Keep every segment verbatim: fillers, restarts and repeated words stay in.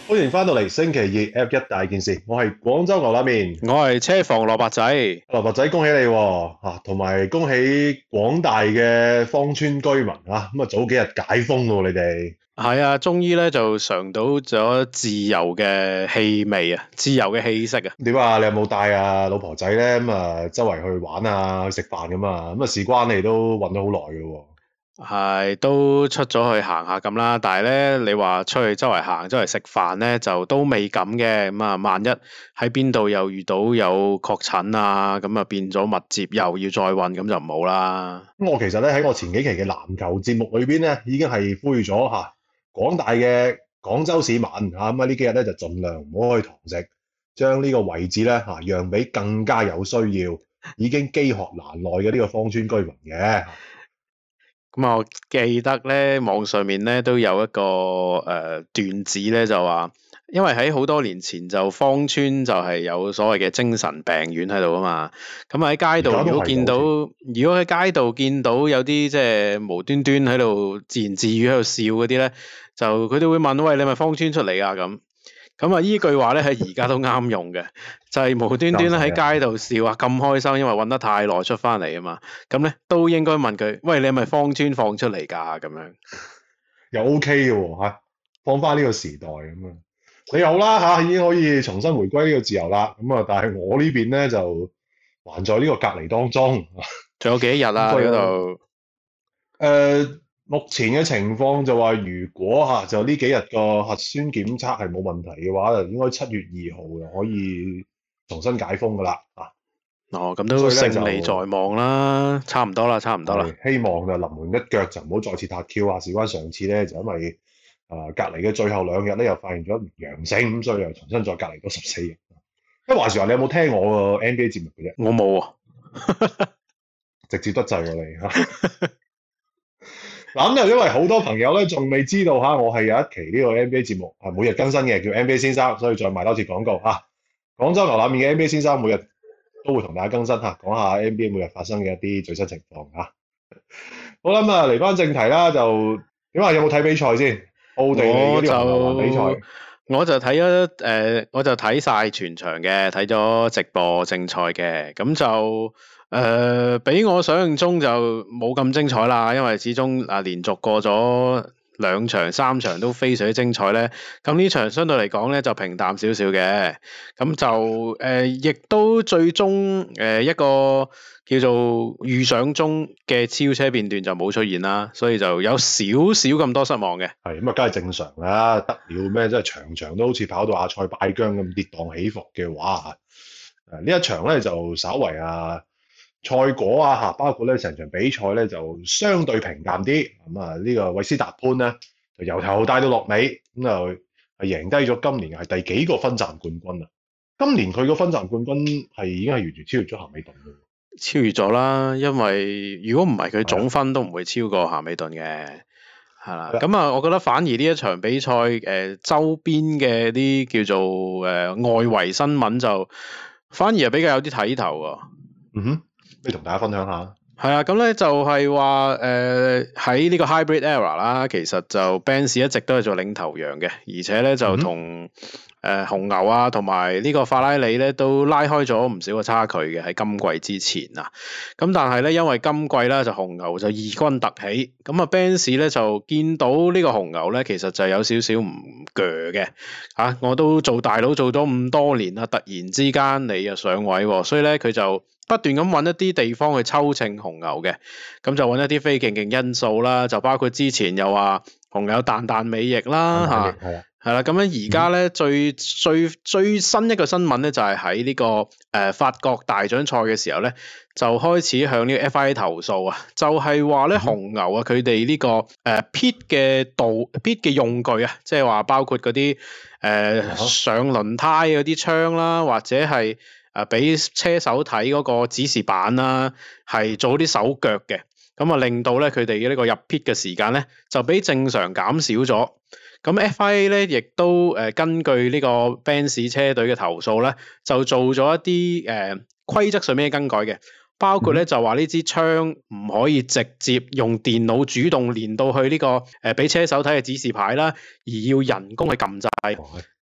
歡迎翻到嚟星期二 F 一大件事，我係廣州牛腩麵， 我係車房蘿蔔仔。 蘿蔔仔恭喜你喎，嚇，同埋恭喜廣大嘅芳村居民啊！咁啊早幾日解封喎，你哋係啊，終於咧就嘗到咗自由嘅氣味啊，自由嘅氣息啊。 點啊？你有冇帶啊老婆仔咧？咁啊周圍去玩啊，去食飯咁啊？咁啊事關你都韞咗好耐嘅喎。 係都出咗去行下咁啦，但係咧你話出去周圍行、周圍食飯咧，就都未敢嘅。咁啊，萬一喺邊度又遇到有確診啊，咁啊變咗密接又要再韞，咁就唔好啦。 咁我其實咧喺我前幾期嘅籃球節目裏邊咧，已經係呼籲咗嚇廣大嘅廣州市民嚇，咁啊呢幾日咧就盡量唔好去堂食，將呢個位置咧嚇讓俾更加有需要、已經飢渴難耐嘅呢個芳村居民嘅。 咁啊，我記得咧網上面咧都有一個誒、呃、段子咧，就話，因為喺好多年前就芳村就係有所謂嘅精神病院喺度啊嘛。咁喺街度如果見到，如果喺街度見到有啲即係無端端喺度自言自語喺度笑嗰啲咧，就佢哋會問：喂，你係咪芳村出嚟啊？咁咁啊，依句話咧喺而家都啱用嘅，就係、是、無端端咧喺街度笑啊，咁開心，因為韞得太耐出翻嚟啊嘛。咁咧都應該問佢：喂，你係咪芳村放出嚟㗎？咁樣又 OK 嘅喎嚇，放翻呢個時代咁啊，你好啦嚇，已經可以重新回歸呢個自由啦。咁啊，但係我呢邊咧就還在呢個隔離當中。 仲有幾日啊？嗰度誒。目前嘅情況就話，如果嚇就呢幾日個核酸檢測係冇問題嘅話，就應該七月二號就可以重新解封噶啦啊！ 哦，咁都勝利在望啦，差唔多啦，差唔多啦。 希望就臨門一腳就唔好再次撻 Q 啊！事關上次咧，就因為啊、呃、隔離嘅最後兩日咧，又發現咗陽性，咁所以又重新再隔離多十四日。不過話時話，你有冇聽我個 N B A 節目嘅啫？ 我冇啊， 直接得滯喎你嚇。嗱咁就因為好多朋友咧仲未知道嚇，我係有一期呢個 N B A 節目係每日更新嘅，叫 N B A 先生，所以再賣多次廣告嚇。廣州牛腩麵嘅 N B A 先生每日都會同大家更新嚇，講下 N B A 每日發生嘅一啲最新情況嚇。好啦，咁啊嚟翻正題啦，就點啊？有冇睇比賽先？奧地利嗰啲紅牛環比賽， 我就睇咗誒，我就睇晒、呃、全場嘅，睇咗直播正賽嘅，咁就。誒、呃，比我想象中就冇咁精彩啦，因為始終啊連續過咗兩場、三場都非常之精彩咧。咁呢場相對嚟講咧就平淡少少嘅，咁就誒亦、呃、都最終誒、呃、一個叫做預想中嘅超車片段就冇出現啦，所以就有少少咁多失望嘅。 係咁啊，梗係正常啦，得了咩？即係場場都好似跑到阿塞拜疆咁跌宕起伏嘅話，誒呢一場咧就稍為啊。賽果啊嚇，包括咧成場比賽咧就相對平淡啲，咁啊呢個韋斯達潘咧就由頭帶到落尾，咁就係贏低咗今年係第幾個分站冠軍啊！今年佢個分站冠軍係已經係完全超越咗咸美頓嘅， 超越咗啦，因為如果唔係佢總分都唔會超過咸美頓嘅，係啦。咁啊，我覺得反而呢一場比賽誒、呃、周邊嘅啲叫做誒、呃、外圍新聞就反而係比較有啲睇頭喎。 嗯哼。可以同大家分享下。 係啊，咁咧就係話誒喺呢個 hybrid era 啦，其實就 Benz 一直都係做領頭羊嘅，而且咧就同誒、呃、紅牛啊同埋呢個法拉利咧都拉開咗唔少嘅差距嘅喺今季之前啊。咁但係咧因為今季咧就紅牛就異軍突起，咁啊 Benz 咧就見到呢個紅牛咧其實就有少少唔鋸嘅嚇，我都做大佬做咗咁多年啦，突然之間你又上位喎，所以咧佢就不斷咁揾一啲地方去抽秤紅牛嘅，咁就揾一啲非競競因素啦，就包括之前又話紅牛彈彈尾翼啦嚇，係啦，咁樣而家咧最最最新一個新聞咧就係喺呢個誒、呃、法國大獎賽嘅時候咧，就開始向呢個 F I A 投訴啊，就係話咧紅牛啊佢哋呢個誒 pit 嘅道 pit 嘅用具啊，即係話包括嗰啲誒上輪胎嗰啲槍啦，或者係誒俾車手睇嗰個指示板啦，係做啲手腳嘅，咁啊令到咧佢哋嘅呢個入 pit 嘅時間咧就比正常減少咗。咁 F I A 咧亦都誒、呃、根據呢個 Benz 車隊嘅投訴咧，就做咗一啲誒、呃、規則上面嘅更改嘅，包括咧就話呢支槍唔可以直接用電腦主動連到去呢、這個誒俾、呃、車手睇嘅指示牌啦，而要人工去撳掣。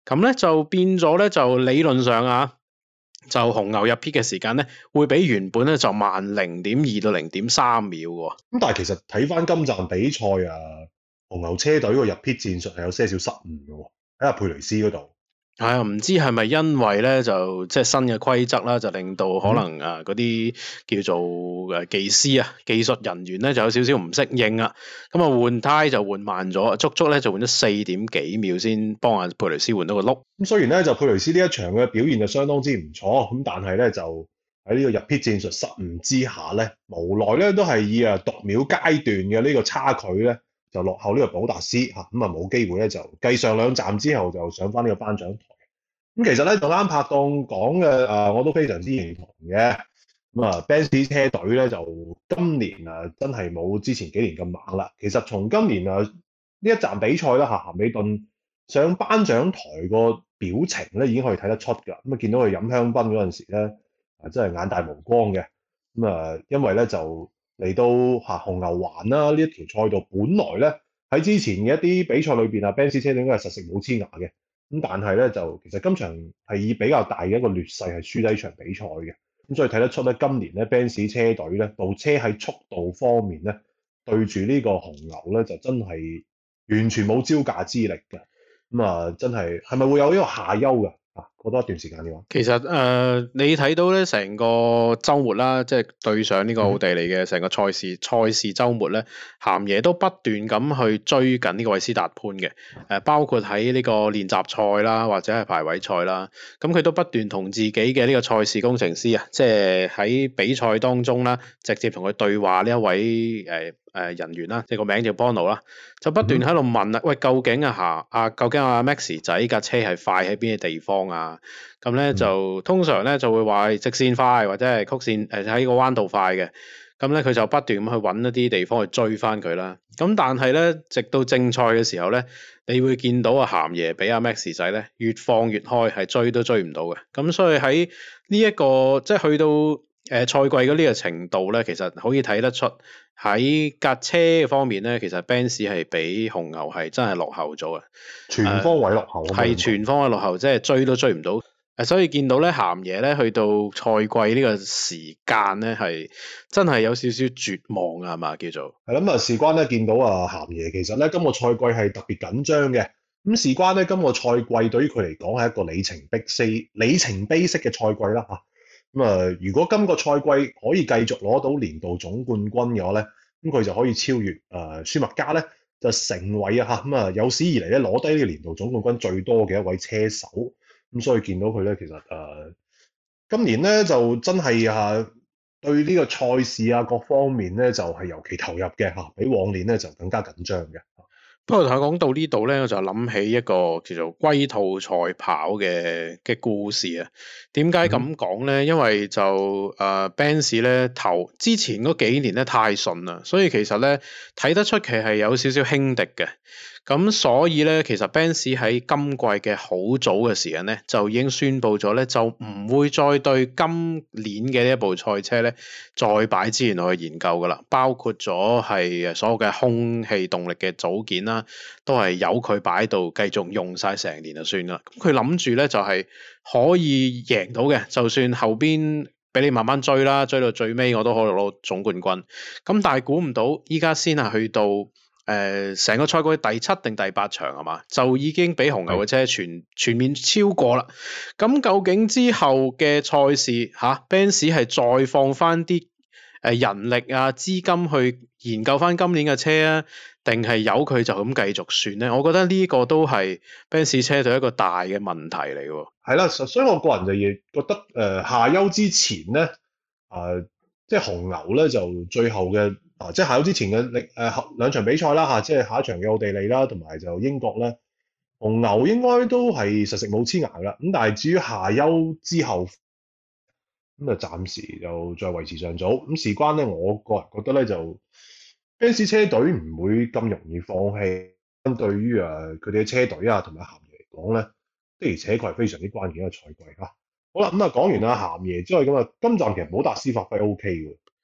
咁咧就變咗咧就理論上啊，就紅牛入 pit 嘅時間咧會比原本咧就慢零點二到零點三秒喎。 咁但係其實睇翻今站比賽啊，紅牛車隊個入 pit 戰術係有些少失誤嘅喎，喺阿佩雷斯嗰度。 係啊，唔知係咪因為咧就即係新嘅規則啦，就令到可能啊嗰啲叫做誒技師啊技術人員咧就有少少唔適應啊，咁啊換胎就換慢咗，足足咧就換咗四點幾秒先幫阿佩雷斯換到個轆。 咁雖然咧就佩雷斯呢一場嘅表現就相當之唔錯，咁但係咧就喺呢個入 pit 戰術失誤之下咧，無奈咧都係以啊讀秒階段嘅呢個差距咧就落後呢個保達斯嚇，咁啊冇機會咧就繼上兩站之後就上翻呢個頒獎台。咁其實咧，同啱拍檔講嘅誒，我都非常之認同嘅。咁啊，Benz 車隊咧就今年啊，真係冇之前幾年咁猛啦。其實從今年啊呢一站比賽啦，嚇咸美頓上頒獎台個表情咧，已經可以睇得出㗎。咁啊，見到佢飲香檳嗰陣時咧，啊真係眼大無光嘅。咁啊，因為咧就嚟到嚇紅牛環啦呢一條賽道，本來咧喺之前嘅一啲比賽裏邊啊，Benz 車隊應該係實食冇黐牙嘅。咁但係咧就其實今場係以比較大嘅一個劣勢係輸低呢場比賽嘅，咁所以睇得出咧今年咧 Benz 車隊咧部車喺速度方面咧對住呢個紅牛咧就真係完全冇招架之力嘅，咁啊真係係咪會有呢個下優嘅啊？過多一段時間嘅話， 其實誒、呃、你睇到咧成個週末啦，即係對上呢個奧地利嘅成個賽事、嗯、賽事週末咧，鹹爺都不斷咁去追緊呢個維斯塔潘嘅，誒、呃、包括喺呢個練習賽啦，或者係排位賽啦，咁佢都不斷同自己嘅呢個賽事工程師啊，即係喺比賽當中啦，直接同佢對話呢一位誒。呃誒人員啦，即係個名叫 Bono 啦，就不斷喺度問啦，喂，究竟啊嚇啊，究竟阿 Max 仔架車係快喺邊啲地方啊？咁咧就通常咧就會話直線快或者係曲線誒喺個彎道快嘅，咁咧佢就不斷咁去揾一啲地方去追翻佢啦。咁但係咧，直到正賽嘅時候咧，你會見到阿鹹爺俾阿 Max 仔咧越放越開，係追都追唔到嘅。咁所以喺呢一個即係去到誒賽季嘅呢個程度咧，其實可以睇得出。喺架車方面咧，其實 Benz 係比紅牛係真係落後咗嘅， 全方位落後， 係、呃、全方位落後，即係追都追唔到。誒，所以見到咧鹹爺咧去到賽季呢個時間咧係真係有少少絕望啊，係嘛叫做？ 係咁啊，事關咧見到啊鹹爺其實咧今個賽季係特別緊張嘅。咁事關咧今個賽季對於佢嚟講係一個里程碑式里程碑式嘅賽季啦嚇。咁啊，如果今個賽季可以繼續攞到年度總冠軍嘅話咧，咁佢就可以超越誒、呃、舒麥加咧，就成為啊嚇咁啊有史以嚟咧攞低呢個年度總冠軍最多嘅一位車手。咁所以見到佢咧，其實誒、呃、今年咧就真係啊對呢個賽事啊各方面咧就係、是、尤其投入嘅嚇，比往年咧就更加緊張嘅。 不過講到呢度咧，我就諗起一個叫做龜兔賽跑嘅嘅故事啊。點解咁講咧？因為就誒、呃、Benz 咧頭之前嗰幾年咧太順啦，所以其實咧睇得出其係有少少輕敵嘅。咁所以咧，其實 Benz 喺今季嘅好早嘅時間咧，就已經宣布咗咧，就唔會再對今年嘅呢一部賽車咧，再擺資源落去研究噶啦。包括咗係所有嘅空氣動力嘅組件啦，都係由佢擺到繼續用晒成年就算啦。咁佢諗住咧就係、是、可以贏到嘅，就算後邊俾你慢慢追啦，追到最尾我都可以攞總冠軍。咁但係估唔到依家先係去到。誒，成、呃、個賽季第七定第八場係嘛，就已經俾紅牛嘅車全全面超過啦。咁究竟之後嘅賽事吓 Benz 係再放翻啲誒人力啊資金去研究翻今年嘅車啊，定係由佢就咁繼續算咧？我覺得呢個都係 Benz 車隊一個大嘅問題嚟嘅。係啦，所以我個人就亦覺得誒、呃、夏休之前咧，誒、呃、即係紅牛咧就最後嘅。啊！即係夏休之前嘅力誒兩場比賽啦嚇，即係下一場嘅奧地利啦，同埋就英國咧，紅牛應該都係實食冇黐牙啦。咁但係至於夏休之後，咁啊暫時就再維持上早。咁事關咧，我個人覺得咧就 Benz 車隊唔會咁容易放棄。對於誒佢哋嘅車隊啊同埋鹹爺嚟講咧，的而且確係非常之關鍵一個賽季嚇。好啦，咁啊講完阿鹹爺之外，咁啊今站其實保達斯發揮 O K 嘅。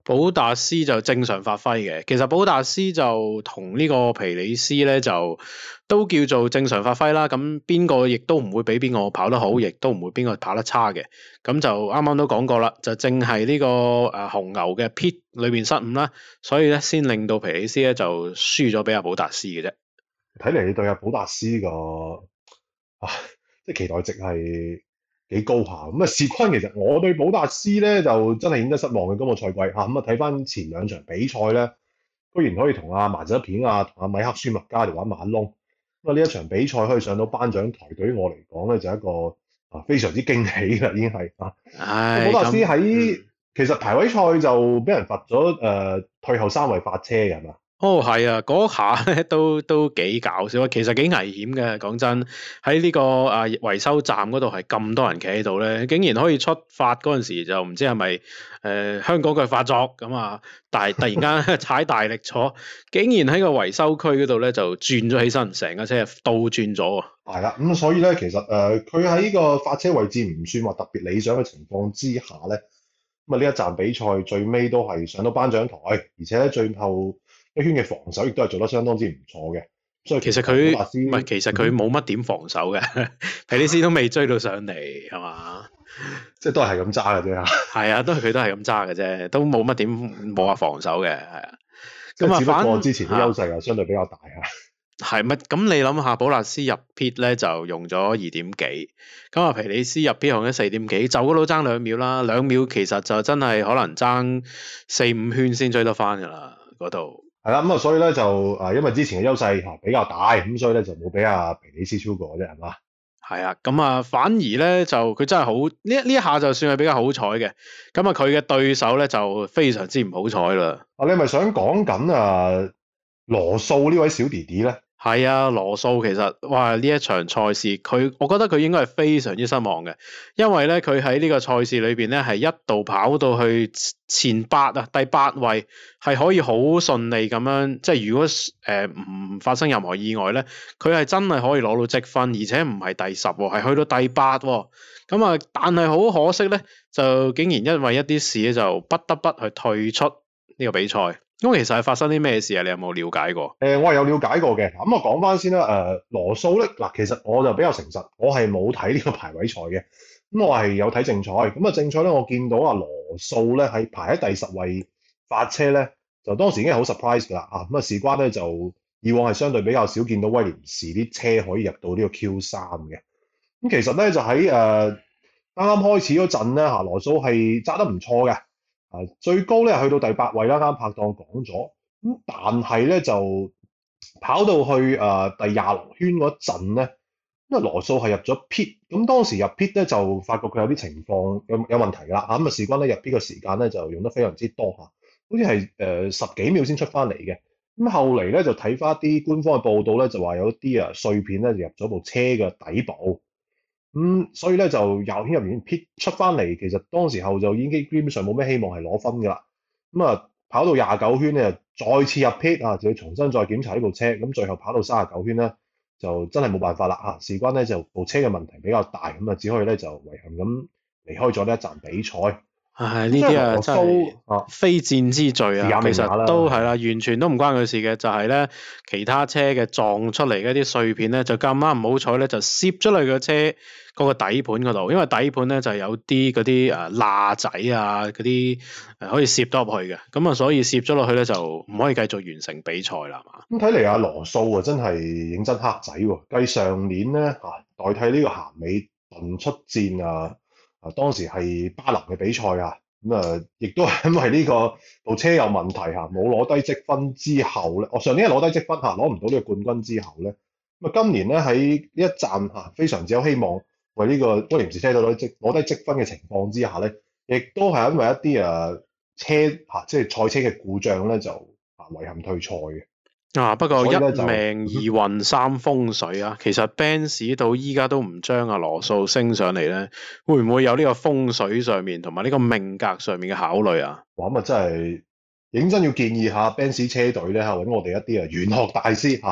保達斯就正常發揮嘅，其實保達斯就同呢個皮里斯咧就都叫做正常發揮啦。咁邊個亦都唔會比邊個跑得好，亦都唔會邊個跑得差嘅。咁就啱啱都講過啦，就正係呢個誒紅牛嘅 pit 裏邊失誤啦，所以咧先令到皮里斯咧就輸咗俾阿保達斯嘅啫。 睇嚟你對阿保達斯個啊，即係期待值係幾高下咁啊！事關其實我對保達斯咧就真係顯得失望嘅今個賽季嚇咁啊！睇翻前兩場比賽咧，居然可以同阿麻澤片啊、同阿米克舒麥加嚟玩馬窿咁啊！呢一場比賽可以上到頒獎台，對於我嚟講咧就係一個啊非常之驚喜啦，已經係啊！ 唉， 保達斯喺、 嗯、 其實排位賽就俾人罰咗誒、呃、退後三位發車嘅係嘛？ 哦，係啊，嗰下咧都都幾搞笑啊！其實幾危險嘅，講真，喺呢、這個啊維修站嗰度係咁多人企喺度咧，竟然可以出發嗰陣時就唔知係咪誒香港腳發作咁啊！但係突然間踩大力咗，竟然喺個維修區嗰度咧就轉咗起身，成架車倒轉咗。 係啦，咁所以咧其實誒佢喺呢個發車位置唔算話特別理想嘅情況之下咧，咁啊呢一站比賽最尾都係上到頒獎台，而且咧最後一圈嘅防守亦都係做得相當之唔錯嘅，所以其實佢唔係，其實佢冇乜點防守嘅，皮里斯都未追到上嚟，係嘛？ 即係都係咁揸嘅啫。 係啊，都係佢都係咁揸嘅啫，都冇乜點冇話防守嘅，係啊。 咁啊，只不過之前嘅優勢又相對比較大啊。 係乜？咁你諗下，保達斯入 pit 咧就用咗二點幾，咁啊皮里斯入 pit 用咗四點幾，就嗰度爭兩秒啦，兩秒其實就真係可能爭四五圈先追得翻噶啦，嗰度。 係啦，咁啊，所以咧就啊，因為之前嘅優勢嚇比較大，咁所以咧就冇俾阿皮里斯超過啫，係嘛？ 係啊，咁啊，反而咧就佢真係好呢呢一下就算係比較好彩嘅，咁啊佢嘅對手咧就非常之唔好彩啦。 啊，你係咪想講緊啊羅素呢位小弟弟咧？ 係啊，羅素其實哇呢一場賽事佢，我覺得佢應該係非常之失望嘅，因為咧佢喺呢個賽事裏邊咧係一度跑到去前八啊，第八位係可以好順利咁樣，即係如果誒唔、呃、發生任何意外咧，佢係真係可以攞到積分，而且唔係第十喎，係去到第八喎。咁啊，但係好可惜咧，就竟然因為一啲事咧，就不得不去退出呢個比賽。咁其實係發生啲咩事啊？你有冇了解過？誒、 呃，我係有了解過嘅。咁我講翻先啦。誒、呃，羅素咧，嗱，其實我就比較誠實，我係冇睇呢個排位賽嘅。咁我係有睇正賽。咁啊，正賽咧，我見到啊羅素咧係排喺第十位發車咧，就當時已經係好 surprise 㗎啦。啊，咁啊，事關咧就以往係相對比較少見到威廉士啲車可以入到呢個 Q 三嘅。咁其實咧就喺誒啱啱開始嗰陣咧，嚇羅素係揸得唔錯嘅。啊，最高咧去到第八位啦，啱拍檔講咗。咁但係咧就跑到去誒、呃、第廿六圈嗰陣咧，因為羅素係入咗 pit，咁當時入 pit 咧就發覺佢有啲情況有有問題㗎啦。咁啊事關咧入 pit 嘅時間咧就用得非常之多嚇，好似係誒十幾秒先出翻嚟嘅。咁後嚟咧就睇翻啲官方嘅報道咧，就話有啲啊碎片咧就入咗部車嘅底部。咁、嗯、所以咧就廿圈入面 pit 出翻嚟，其實當時候就已經基本上冇咩希望係攞分㗎啦。咁、嗯、啊跑到廿九圈咧，再次入 pit 啊，就要重新再檢查呢部車。咁最後跑到三十九圈咧，就真係冇辦法啦嚇。事關咧就部車嘅問題比較大，咁啊只可以咧就遺憾咁離開咗呢一站比賽。 唉，呢啲啊真係非戰之罪啊！其實都係啦，完全都唔關佢事嘅，就係咧其他車嘅撞出嚟嘅啲碎片咧，就咁啱唔好彩咧，就攝咗落個車嗰個底盤嗰度，因為底盤咧就有啲嗰啲誒罅仔啊，嗰啲誒可以攝得入去嘅，咁啊所以攝咗落去咧就唔可以繼續完成比賽啦，係嘛？ 咁睇嚟阿羅素啊真係認真黑仔喎，繼上年咧嚇代替呢個鹹美頓出戰啊！啊，當時係巴林嘅比賽啊，咁啊，亦都係因為呢個部車有問題嚇，冇攞低積分之後咧，我上年係攞低積分嚇，攞唔到呢個冠軍之後咧，咁啊，今年咧喺呢一站嚇非常之有希望為呢個威廉士車隊攞積攞低積分嘅情況之下咧，亦都係因為一啲啊車嚇即係賽車嘅故障咧，就啊遺憾退賽嘅。 啊！不過一命二運三風水啊，其實 Benz 到依家都唔將阿羅素升上嚟咧，會唔會有呢個風水上面同埋呢個命格上面嘅考慮啊？ 哇！咁啊真係認真要建議下 Benz 車隊咧嚇，揾我哋一啲啊玄學大師嚇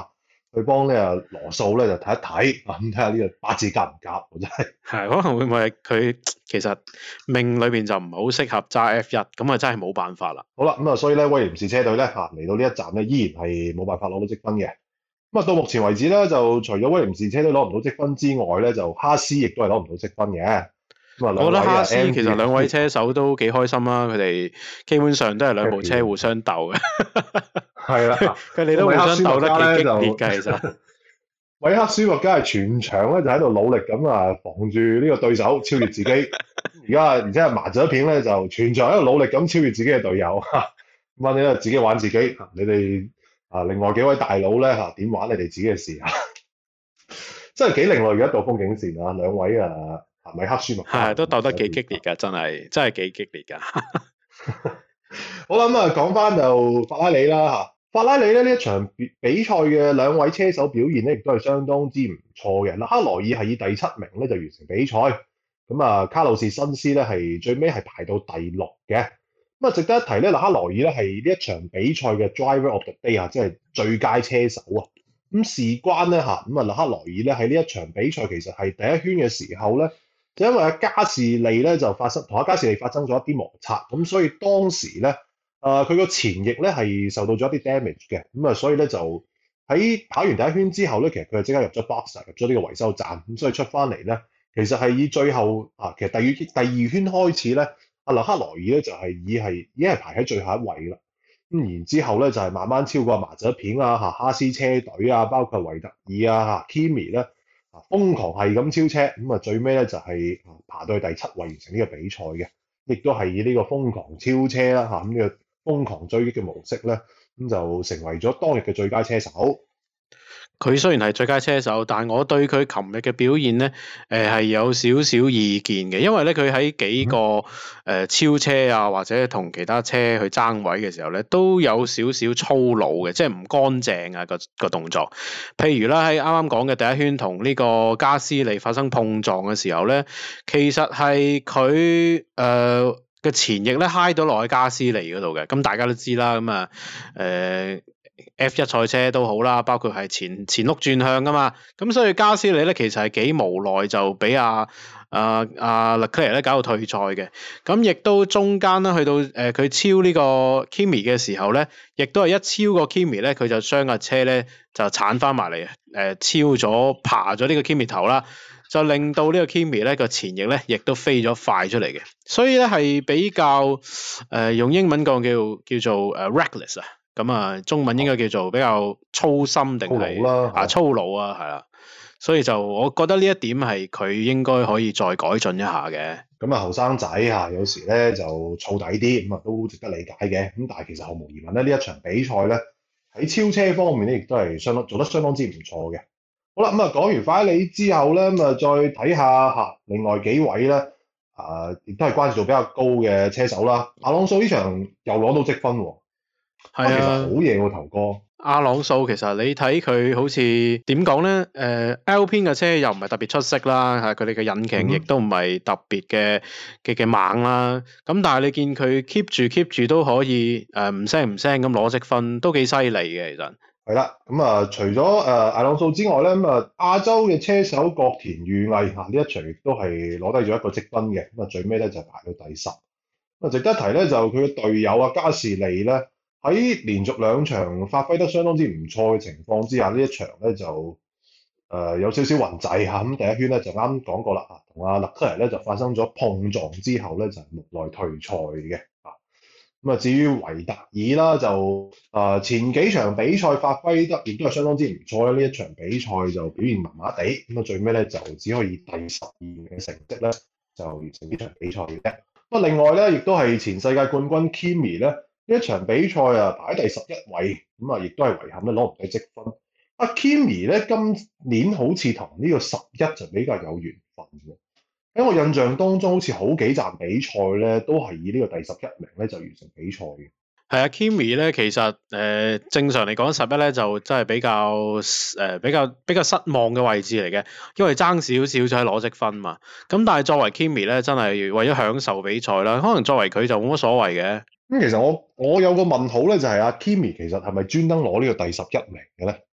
去幫呢個羅素咧就睇一睇，咁睇下呢個八字夾唔夾，真係。 係可能會唔會係佢其實命裏邊就唔係好適合揸 F 一，咁啊真係冇辦法啦。 好啦，咁啊所以咧威廉士車隊咧嚇嚟到呢一站咧依然係冇辦法攞到積分嘅。咁啊到目前為止咧就除咗威廉士車隊攞唔到積分之外咧，就哈斯亦都係攞唔到積分嘅。咁啊， 我覺得哈斯 M 其實兩位車手都幾開心啦，佢哋基本上都係兩部車互相鬥嘅。 係啦， 佢哋都互相鬥得幾激烈㗎，其實。 韋克舒麥加係全場咧就喺度努力咁啊防住呢個對手超越自己。而家而且係麻雀片咧就全場喺度努力咁超越自己嘅隊友。咁啊你咧自己玩自己，你哋啊另外幾位大佬咧嚇點玩你哋自己嘅事啊！真係幾另類嘅一道風景線啊！兩位啊韋克舒麥加係都鬥得幾激烈㗎，真係真係幾激烈㗎。 好啦，咁啊講翻就法拉利啦嚇。法拉利咧呢一場比賽嘅兩位車手表現咧，亦都係相當之唔錯嘅。勒克萊爾係以第七名咧就完成比賽，咁啊卡路士辛斯咧係最尾係排到第六嘅。咁啊值得一提咧，勒克萊爾咧係呢一場比賽嘅 Driver of the Day 啊，即係最佳車手啊。咁事關咧嚇，咁啊勒克萊爾咧喺呢一場比賽其實係第一圈嘅時候咧，就因為阿加士利咧就發生同阿加士利發生咗一啲摩擦，咁所以當時咧。誒佢個前翼咧係受到咗一啲 damage 嘅，咁啊所以咧就喺跑完第一圈之後咧，其實佢就即刻入咗 box 入咗呢個維修站，咁所以出翻嚟咧，其實係以最後啊，其實第二第二圈開始咧，阿勒克萊爾咧就係以係已經係排喺最後一位啦，咁然之後咧就係慢慢超過麻雀片啊嚇哈斯車隊啊，包括維特爾啊嚇 Kimi 咧啊瘋狂係咁超車，咁啊最尾咧就係爬到去第七位完成呢個比賽嘅，亦都係以呢個瘋狂超車啦嚇咁呢個。瘋狂追擊嘅模式咧，咁就成為咗當日嘅最佳車手。 佢雖然係最佳車手，但我對佢琴日嘅表現咧，誒、呃、係有少少意見嘅，因為咧佢喺幾個誒、呃、超車啊，或者同其他車去爭位嘅時候咧，都有少少粗魯嘅，即係唔乾淨啊個個動作。譬如啦，喺啱啱講嘅第一圈同呢個加斯利發生碰撞嘅時候咧，其實係佢誒嘅前翼咧揩到落去加斯利嗰度嘅，咁大家都知啦，咁啊誒 F 一賽車都好啦，包括係前前轆轉向噶嘛，咁所以加斯利咧其實係幾無奈就俾阿阿阿勒克萊爾咧搞到退賽嘅，咁亦都中間咧去到誒佢、呃、超呢個 Kimi 嘅時候咧，亦都係一超過 Kimi 咧，佢就將架車咧就鏟翻埋嚟，誒、呃、超咗爬咗呢個 Kimi 頭啦。就令到呢個 Kimi 咧個前翼咧，亦都飛咗快出嚟嘅，所以咧係比較誒、呃、用英文講叫叫做誒、uh, reckless 啊，咁啊中文應該叫做比較粗心定係啊粗魯啊，係啦，所以就我覺得呢一點係佢應該可以再改進一下嘅。 咁啊後生仔嚇有時咧就燥底啲，咁啊都值得理解嘅。咁但係其實毫無疑問咧，呢一場比賽咧喺超車方面咧，亦都係相當做得相當之唔錯嘅。好啦，咁啊講完法拉利之後咧，咁啊再睇下嚇另外幾位咧，啊亦都係關注度比較高嘅車手啦。阿朗素呢場又攞到積分喎， 係啊， 其實好嘢喎頭哥。 阿朗素其實你睇佢好似點講咧？誒、呃、Alpine 嘅車又唔係特別出色啦，係佢哋嘅引擎亦都唔係特別嘅嘅嘅猛啦。咁但係你見佢 keep 住 keep 住都可以誒唔聲唔聲咁攞積分，都幾犀利嘅其實。 係啦，咁啊，除咗誒阿朗素之外咧，咁啊亞洲嘅車手角田裕毅嚇呢一場亦都係攞低咗一個積分嘅，咁啊最尾咧就排到第十。咁啊值得一提咧，就佢嘅隊友啊加士利咧喺連續兩場發揮得相當之唔錯嘅情況之下，呢一場咧就誒、呃、有少少暈滯嚇。咁第一圈咧就啱講過啦，啊同阿勒克萊爾咧就發生咗碰撞之後咧就無奈退賽嘅。咁啊，至於維特爾啦，就啊、呃、前幾場比賽發揮得亦都係相當之唔錯啦。呢一場比賽就表現麻麻地，咁啊最尾咧就只可以第十二名嘅成績咧就完成呢場比賽嘅啫。咁啊，另外咧亦都係前世界冠軍 Kimi 咧呢一場比賽啊排喺第十一位，咁啊亦都係遺憾咧攞唔到積分。啊 Kimi 咧今年好似同呢個十一就比較有緣分嘅。喺我印象當中，好似好幾站比賽咧，都係以呢個第十一名咧就完成比賽嘅。 係啊 Kimi 咧，其實誒、呃、正常嚟講十一咧就真係比較誒、呃、比較比較失望嘅位置嚟嘅，因為爭少少就係攞積分嘛。咁但係作為 Kimi 咧，真係為咗享受比賽啦，可能作為佢就冇乜所謂嘅。咁、 嗯、其實我我有個問號咧，就係、是、阿 Kimi 其實係咪專登攞呢個第十一名嘅咧？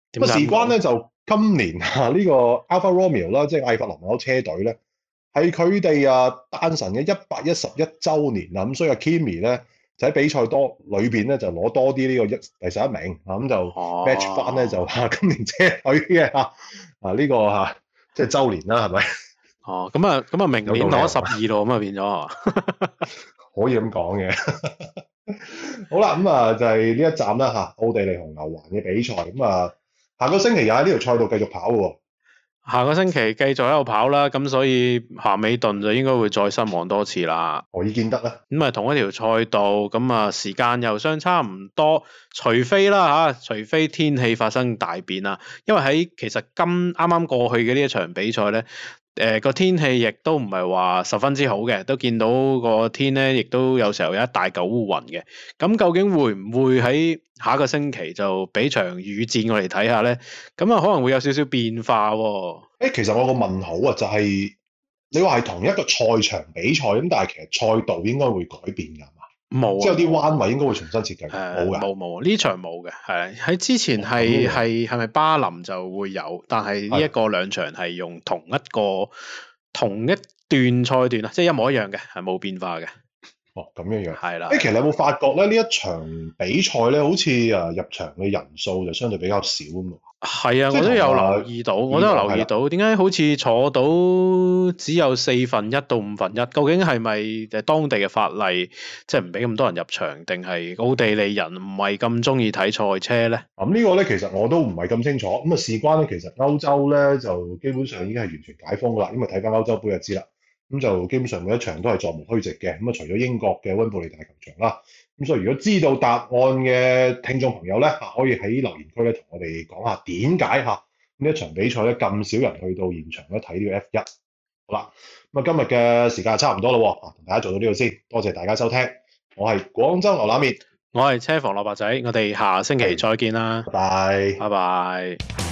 咁啊，事關咧就今年啊呢個 Alfa Romeo 啦，即係艾弗林嗰車隊咧，係佢哋啊誕辰嘅一百一十一週年啦，咁所以阿 Kimi 咧就喺比賽多裏邊咧就攞多啲呢個一第十一名啊，咁就 match 翻咧就話今年車隊嘅啊啊呢個嚇即係週年啦，係咪？ 哦，咁啊咁啊，明年攞十二咯，咁啊變咗係嘛？ 可以咁講嘅。好啦，咁啊就係呢一站啦嚇，奧地利紅牛環嘅比賽，咁啊下個星期又喺呢條賽道繼續跑喎。 下個星期繼續喺度跑啦，咁所以咸美頓就應該會再失望多次啦。 何以見得咧？ 咁啊同一條賽道，咁啊時間又相差唔多，除非啦嚇，除非天氣發生大變啦，因為喺其實今啱啱過去嘅呢一場比賽咧。誒、呃、個天氣亦都唔係話十分之好嘅，都見到個天咧，亦都有時候有一大嚿烏雲嘅。咁究竟會唔會喺下一個星期就俾場雨戰我嚟睇下咧？咁啊可能會有少少變化喎、哦。 誒，其實我個問號啊，就係、是、你話係同一個賽場比賽咁，但係其實賽道應該會改變㗎嘛？冇、啊，即係有啲彎位應該會重新設計。冇㗎， 冇冇呢場冇嘅，係喺之前係係係咪巴林就會有，但係呢一個兩場係用同一個同一段賽段啊，即係一模一樣嘅，係冇變化嘅。 哦，咁樣樣係啦。 誒，其實你有冇發覺咧？呢一場比賽咧，好似誒入場嘅人數就相對比較少啊嘛。係啊，我都有留意到，我都有留意到，點解好似坐到只有四分一到五分一？究竟係咪誒當地嘅法例，即係唔俾咁多人入場，定係奧地利人唔係咁中意睇賽車咧？ 咁、嗯這個、呢個咧，其實我都唔係咁清楚。咁啊，事關咧，其實歐洲咧就基本上已經係完全解封噶啦。咁啊，睇翻歐洲杯就知啦。咁就基本上每一場都係座無虛席嘅。咁啊，除咗英國嘅溫布利大球場啦。咁所以如果知道答案嘅聽眾朋友咧，可以喺留言區咧同我哋講下點解嚇呢一場比賽咧咁少人去到現場咧睇呢個 F 一。好啦，咁啊今日嘅時間差唔多啦，啊同大家做到呢度先，多謝大家收聽。我係廣州牛腩麵， 我係車房蘿蔔仔，我哋下星期再見啦， 拜拜， 拜拜。